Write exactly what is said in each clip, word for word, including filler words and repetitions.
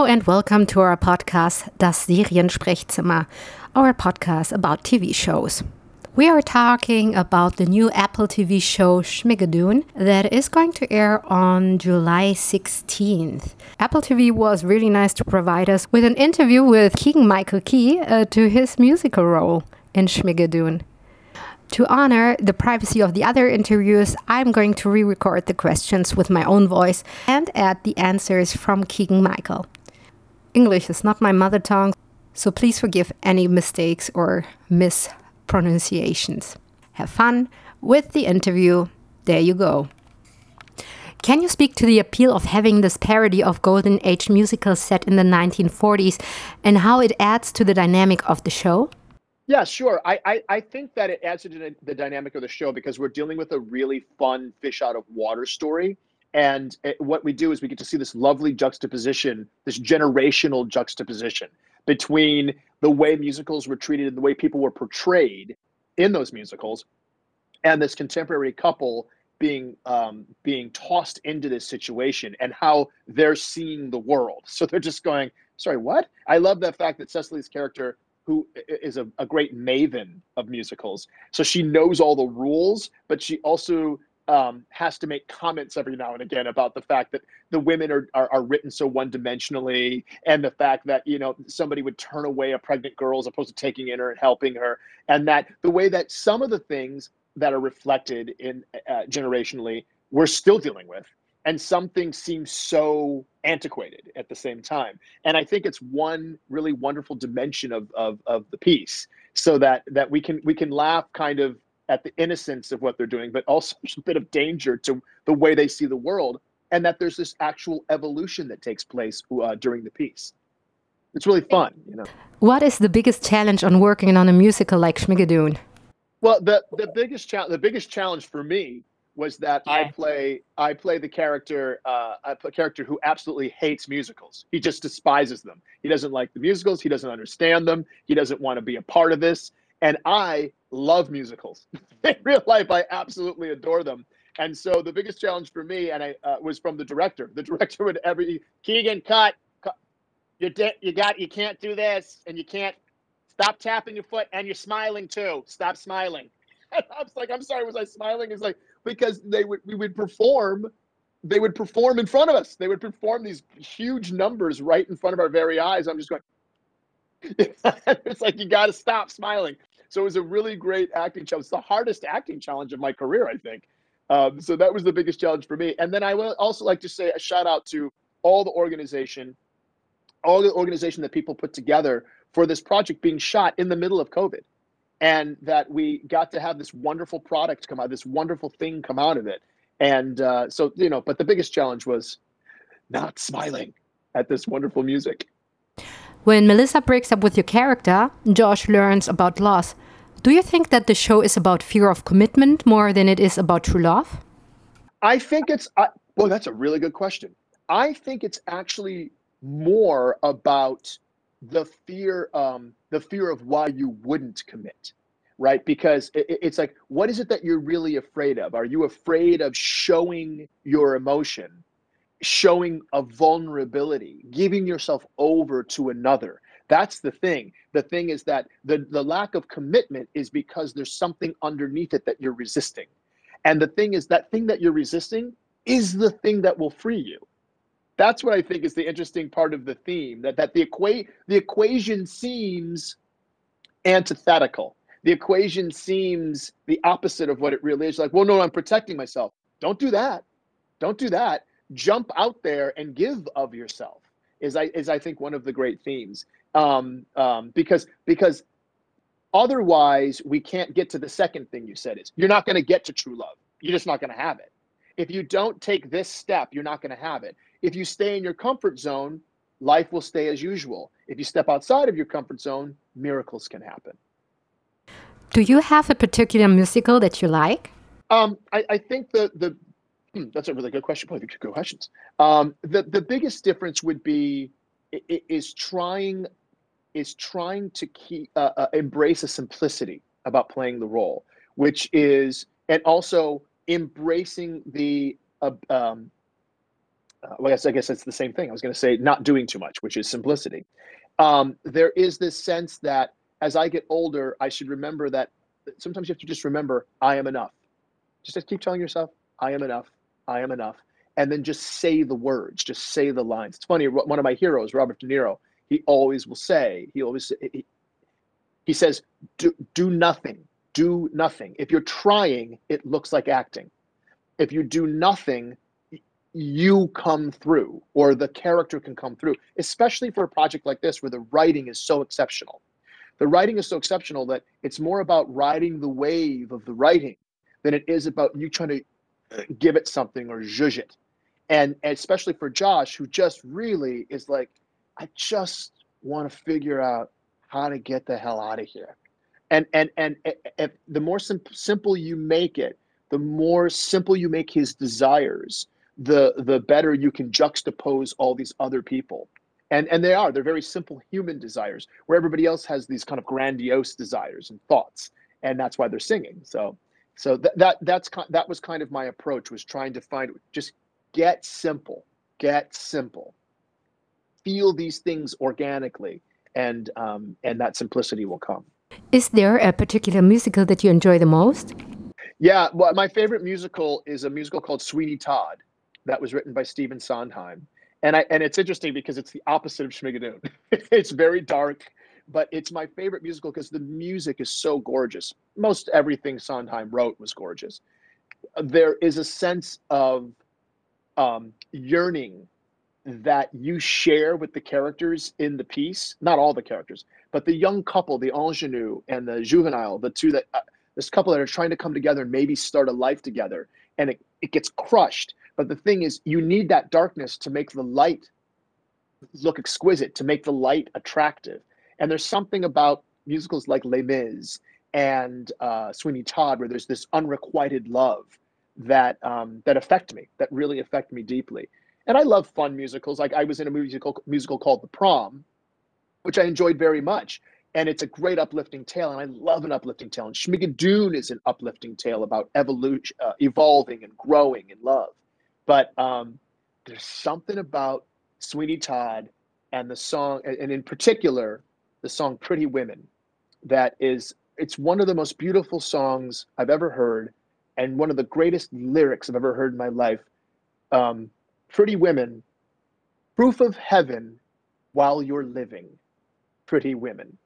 and welcome to our podcast, Das Seriensprechzimmer, our podcast about T V shows. We are talking about the new Apple T V show Schmigadoon that is going to air on July sixteenth. Apple T V was really nice to provide us with an interview with Keegan-Michael Key uh, to his musical role in Schmigadoon. To honor the privacy of the other interviews, I'm going to re-record the questions with my own voice and add the answers from Keegan-Michael. English is not my mother tongue, so please forgive any mistakes or mispronunciations. Have fun with the interview. There you go. Can you speak to the appeal of having this parody of Golden Age musicals set in the nineteen forties and how it adds to the dynamic of the show? Yeah, sure. I, I, I think that it adds to the, the dynamic of the show because we're dealing with a really fun fish out of water story. And it, what we do is we get to see this lovely juxtaposition, this generational juxtaposition between the way musicals were treated and the way people were portrayed in those musicals and this contemporary couple being um, being tossed into this situation and how they're seeing the world. So they're just going, sorry, what? I love the fact that Cecily's character, who is a, a great maven of musicals. So she knows all the rules, but she also um, has to make comments every now and again about the fact that the women are, are, are written so one-dimensionally, and the fact that, you know, somebody would turn away a pregnant girl as opposed to taking in her and helping her. And that the way that some of the things that are reflected in uh, generationally, we're still dealing with. And some things seem so antiquated at the same time. And I think it's one really wonderful dimension of, of, of the piece, so that that we can we can laugh kind of at the innocence of what they're doing, but also a bit of danger to the way they see the world, and that there's this actual evolution that takes place uh, during the piece. It's really fun, you know. What is the biggest challenge on working on a musical like Schmigadoon? Well, the the biggest challenge the biggest challenge for me was that yeah. I play I play the character uh, I play a character who absolutely hates musicals. He just despises them. He doesn't like the musicals. He doesn't understand them. He doesn't want to be a part of this. And I love musicals. In real life, I absolutely adore them. And so the biggest challenge for me, and I uh, was from the director. The director would every Keegan cut. cut you de- you got you can't do this, and you can't stop tapping your foot, and you're smiling too. Stop smiling. And I was like, I'm sorry, was I smiling? It's like, because they would we would perform they would perform in front of us. They would perform these huge numbers right in front of our very eyes. I'm just going, it's like, you got to stop smiling. So it was a really great acting challenge. It's the hardest acting challenge of my career, I think. Um, so that was the biggest challenge for me. And then I would also like to say a shout out to all the organization, all the organization that people put together for this project being shot in the middle of COVID. And that we got to have this wonderful product come out, this wonderful thing come out of it. And uh, so, you know, but the biggest challenge was not smiling at this wonderful music. When Melissa breaks up with your character, Josh learns about loss. Do you think that the show is about fear of commitment more than it is about true love? I think it's, uh, well, that's a really good question. I think it's actually more about the fear, um, the fear of why you wouldn't commit, right? Because it, it's like, what is it that you're really afraid of? Are you afraid of showing your emotion, showing a vulnerability, giving yourself over to another? That's the thing. The thing is that the, the lack of commitment is because there's something underneath it that you're resisting. And the thing is, that thing that you're resisting is the thing that will free you. That's what I think is the interesting part of the theme, that, that the, equa- the equation seems antithetical. The equation seems the opposite of what it really is. Like, well, no, I'm protecting myself. Don't do that. Don't do that. Jump out there and give of yourself is, I, is I think, one of the great themes. Um, um, because, because otherwise, we can't get to the second thing you said is, you're not going to get to true love. You're just not going to have it. If you don't take this step, you're not going to have it. If you stay in your comfort zone, life will stay as usual. If you step outside of your comfort zone, miracles can happen. Do you have a particular musical that you like? Um, I, I think the the hmm, that's a really good question. Both good questions. Um, the the biggest difference would be is trying is trying to keep uh, uh, embrace a simplicity about playing the role, which is, and also embracing the uh, um, uh, well, I guess I guess it's the same thing. I was going to say not doing too much, which is simplicity. Um, there is this sense that as I get older, I should remember that sometimes you have to just remember I am enough. Just keep telling yourself I am enough. I am enough. And then just say the words, just say the lines. It's funny. One of my heroes, Robert De Niro, he always will say, he always he, he says, do, do nothing, do nothing. If you're trying, it looks like acting. If you do nothing, you come through, or the character can come through, especially for a project like this where the writing is so exceptional. The writing is so exceptional that it's more about riding the wave of the writing than it is about you trying to give it something or zhuzh it. And, and especially for Josh, who just really is like, I just want to figure out how to get the hell out of here. And and and if the more sim- simple you make it, the more simple you make his desires, the the better you can juxtapose all these other people. And and they are, they're very simple human desires, where everybody else has these kind of grandiose desires and thoughts, and that's why they're singing. So so th- that that's that was kind of my approach, was trying to find, just get simple, get simple, feel these things organically, and um, and that simplicity will come. Is there a particular musical that you enjoy the most? Yeah, well, my favorite musical is a musical called Sweeney Todd that was written by Stephen Sondheim. And I and it's interesting because it's the opposite of Schmigadoon. It's very dark, but it's my favorite musical because the music is so gorgeous. Most everything Sondheim wrote was gorgeous. There is a sense of um, yearning that you share with the characters in the piece. Not all the characters, but the young couple, the ingenue and the juvenile, the two that uh, this couple that are trying to come together and maybe start a life together, and it, it gets crushed. But the thing is, you need that darkness to make the light look exquisite, to make the light attractive. And there's something about musicals like Les Mis and uh, Sweeney Todd where there's this unrequited love that um, that affect me, that really affect me deeply. And I love fun musicals. Like I was in a musical musical called The Prom, which I enjoyed very much. And it's a great uplifting tale, and I love an uplifting tale. And Schmigadoon is an uplifting tale about evolution, uh, evolving and growing in love. But um, there's something about Sweeney Todd and the song, and in particular, the song Pretty Women, that is, it's one of the most beautiful songs I've ever heard, and one of the greatest lyrics I've ever heard in my life. Um, Pretty women, proof of heaven while you're living. Pretty women.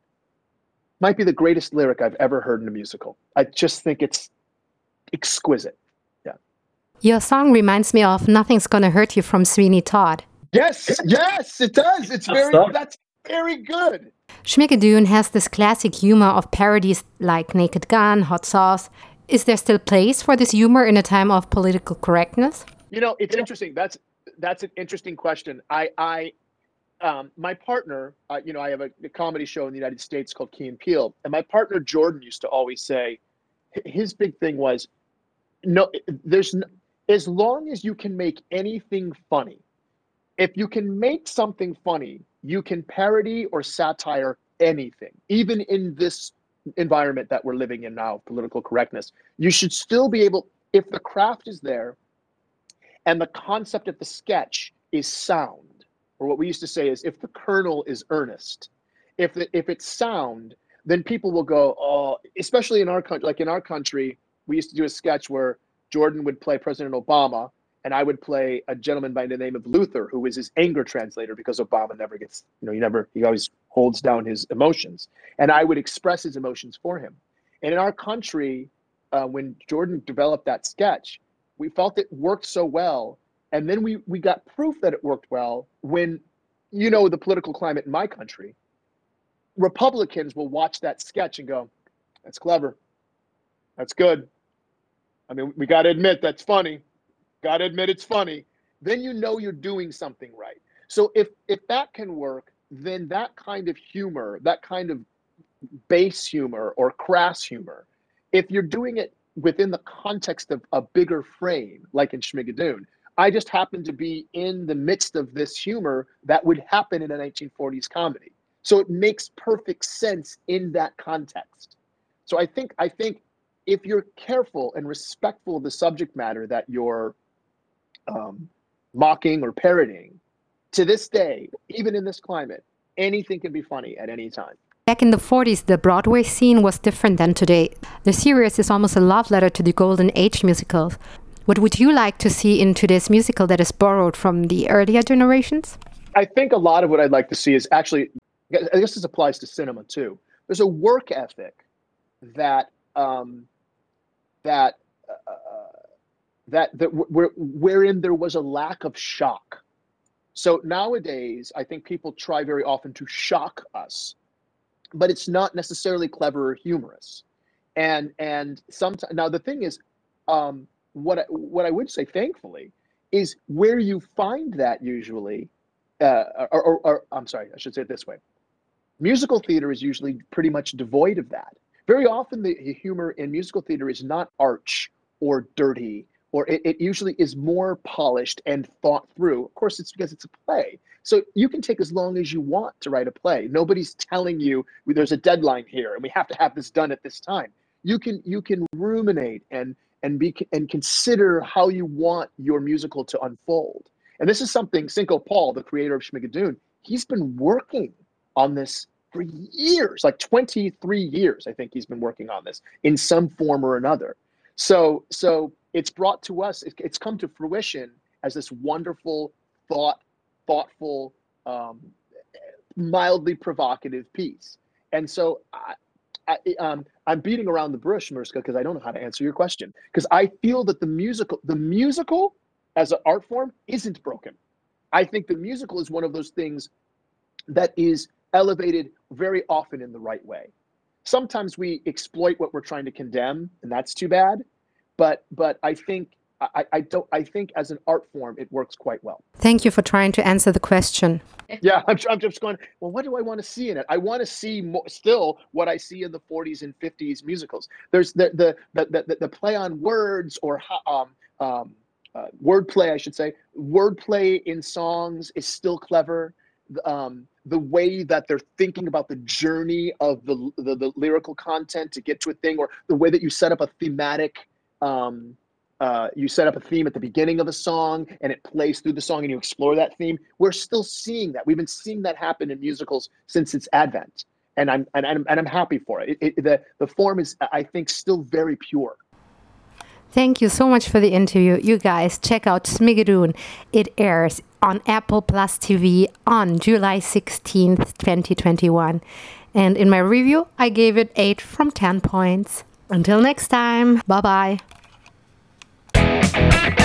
Might be the greatest lyric I've ever heard in a musical. I just think it's exquisite. Yeah. Your song reminds me of Nothing's Gonna Hurt You from Sweeney Todd. Yes, yes, it does. It's very, that's very good. Schmigadoon has this classic humor of parodies like Naked Gun, Hot Sauce. Is there still place for this humor in a time of political correctness? You know, it's interesting. That's that's an interesting question. I, I, um, my partner, uh, you know, I have a, a comedy show in the United States called Key and Peele, and my partner Jordan used to always say, his big thing was, no, there's no, as long as you can make anything funny, if you can make something funny, you can parody or satire anything, even in this environment that we're living in now, political correctness. You should still be able, if the craft is there and the concept of the sketch is sound, or what we used to say is if the kernel is earnest, if the, if it's sound, then people will go, oh, especially in our country, like in our country, we used to do a sketch where Jordan would play President Obama, and I would play a gentleman by the name of Luther, who is his anger translator, because Obama never gets, you know, he never, he always holds down his emotions. And I would express his emotions for him. And in our country, uh, when Jordan developed that sketch, we felt it worked so well. And then we, we got proof that it worked well when, you know, the political climate in my country, Republicans will watch that sketch and go, that's clever. That's good. I mean, we got to admit that's funny. Got to admit it's funny. Then you know you're doing something right. So if if that can work, then that kind of humor, that kind of base humor or crass humor, if you're doing it within the context of a bigger frame, like in Schmigadoon, I just happen to be in the midst of this humor that would happen in a nineteen forties comedy. So it makes perfect sense in that context. So I think I think if you're careful and respectful of the subject matter that you're um, mocking or parroting. To this day, even in this climate, anything can be funny at any time. Back in the forties, the Broadway scene was different than today. The series is almost a love letter to the golden age musicals. What would you like to see in today's musical that is borrowed from the earlier generations? I think a lot of what I'd like to see is actually, I guess this applies to cinema too. There's a work ethic that um, that uh, that that where, wherein there was a lack of shock. So nowadays, I think people try very often to shock us, but it's not necessarily clever or humorous. And and sometimes now the thing is, um, what I, what I would say, thankfully, is where you find that usually, uh, or, or, or I'm sorry, I should say it this way: musical theater is usually pretty much devoid of that. Very often, the humor in musical theater is not arch or dirty, or it, it usually is more polished and thought through. Of course, it's because it's a play. So you can take as long as you want to write a play. Nobody's telling you there's a deadline here and we have to have this done at this time. You can you can ruminate and and be and consider how you want your musical to unfold. And this is something Cinco Paul, the creator of Schmigadoon, he's been working on this for years, like twenty-three years. I think he's been working on this in some form or another. So so it's brought to us, it, it's come to fruition as this wonderful, thought, thoughtful, um, mildly provocative piece. And so I, I, um, I'm beating around the bush, Mariska, because I don't know how to answer your question. Because I feel that the musical, the musical as an art form isn't broken. I think the musical is one of those things that is elevated very often in the right way. Sometimes we exploit what we're trying to condemn, and that's too bad. But but I think I, I don't I think as an art form it works quite well. Thank you for trying to answer the question. Yeah, I'm, I'm just going, well, what do I want to see in it? I want to see more, still what I see in the forties and fifties musicals. There's the the the the, the play on words or um um uh, wordplay, I should say. Wordplay in songs is still clever. Um, the way that they're thinking about the journey of the, the the lyrical content to get to a thing, or the way that you set up a thematic. Um, uh, you set up a theme at the beginning of a song and it plays through the song and you explore that theme. We're still seeing that. We've been seeing that happen in musicals since its advent. And I'm, and I'm, and I'm happy for it. It, it. The, the form is, I think, still very pure. Thank you so much for the interview. You guys, check out Schmigadoon. It airs on Apple Plus T V on July sixteenth, twenty twenty-one. And in my review, I gave it eight from ten points. Until next time, bye-bye.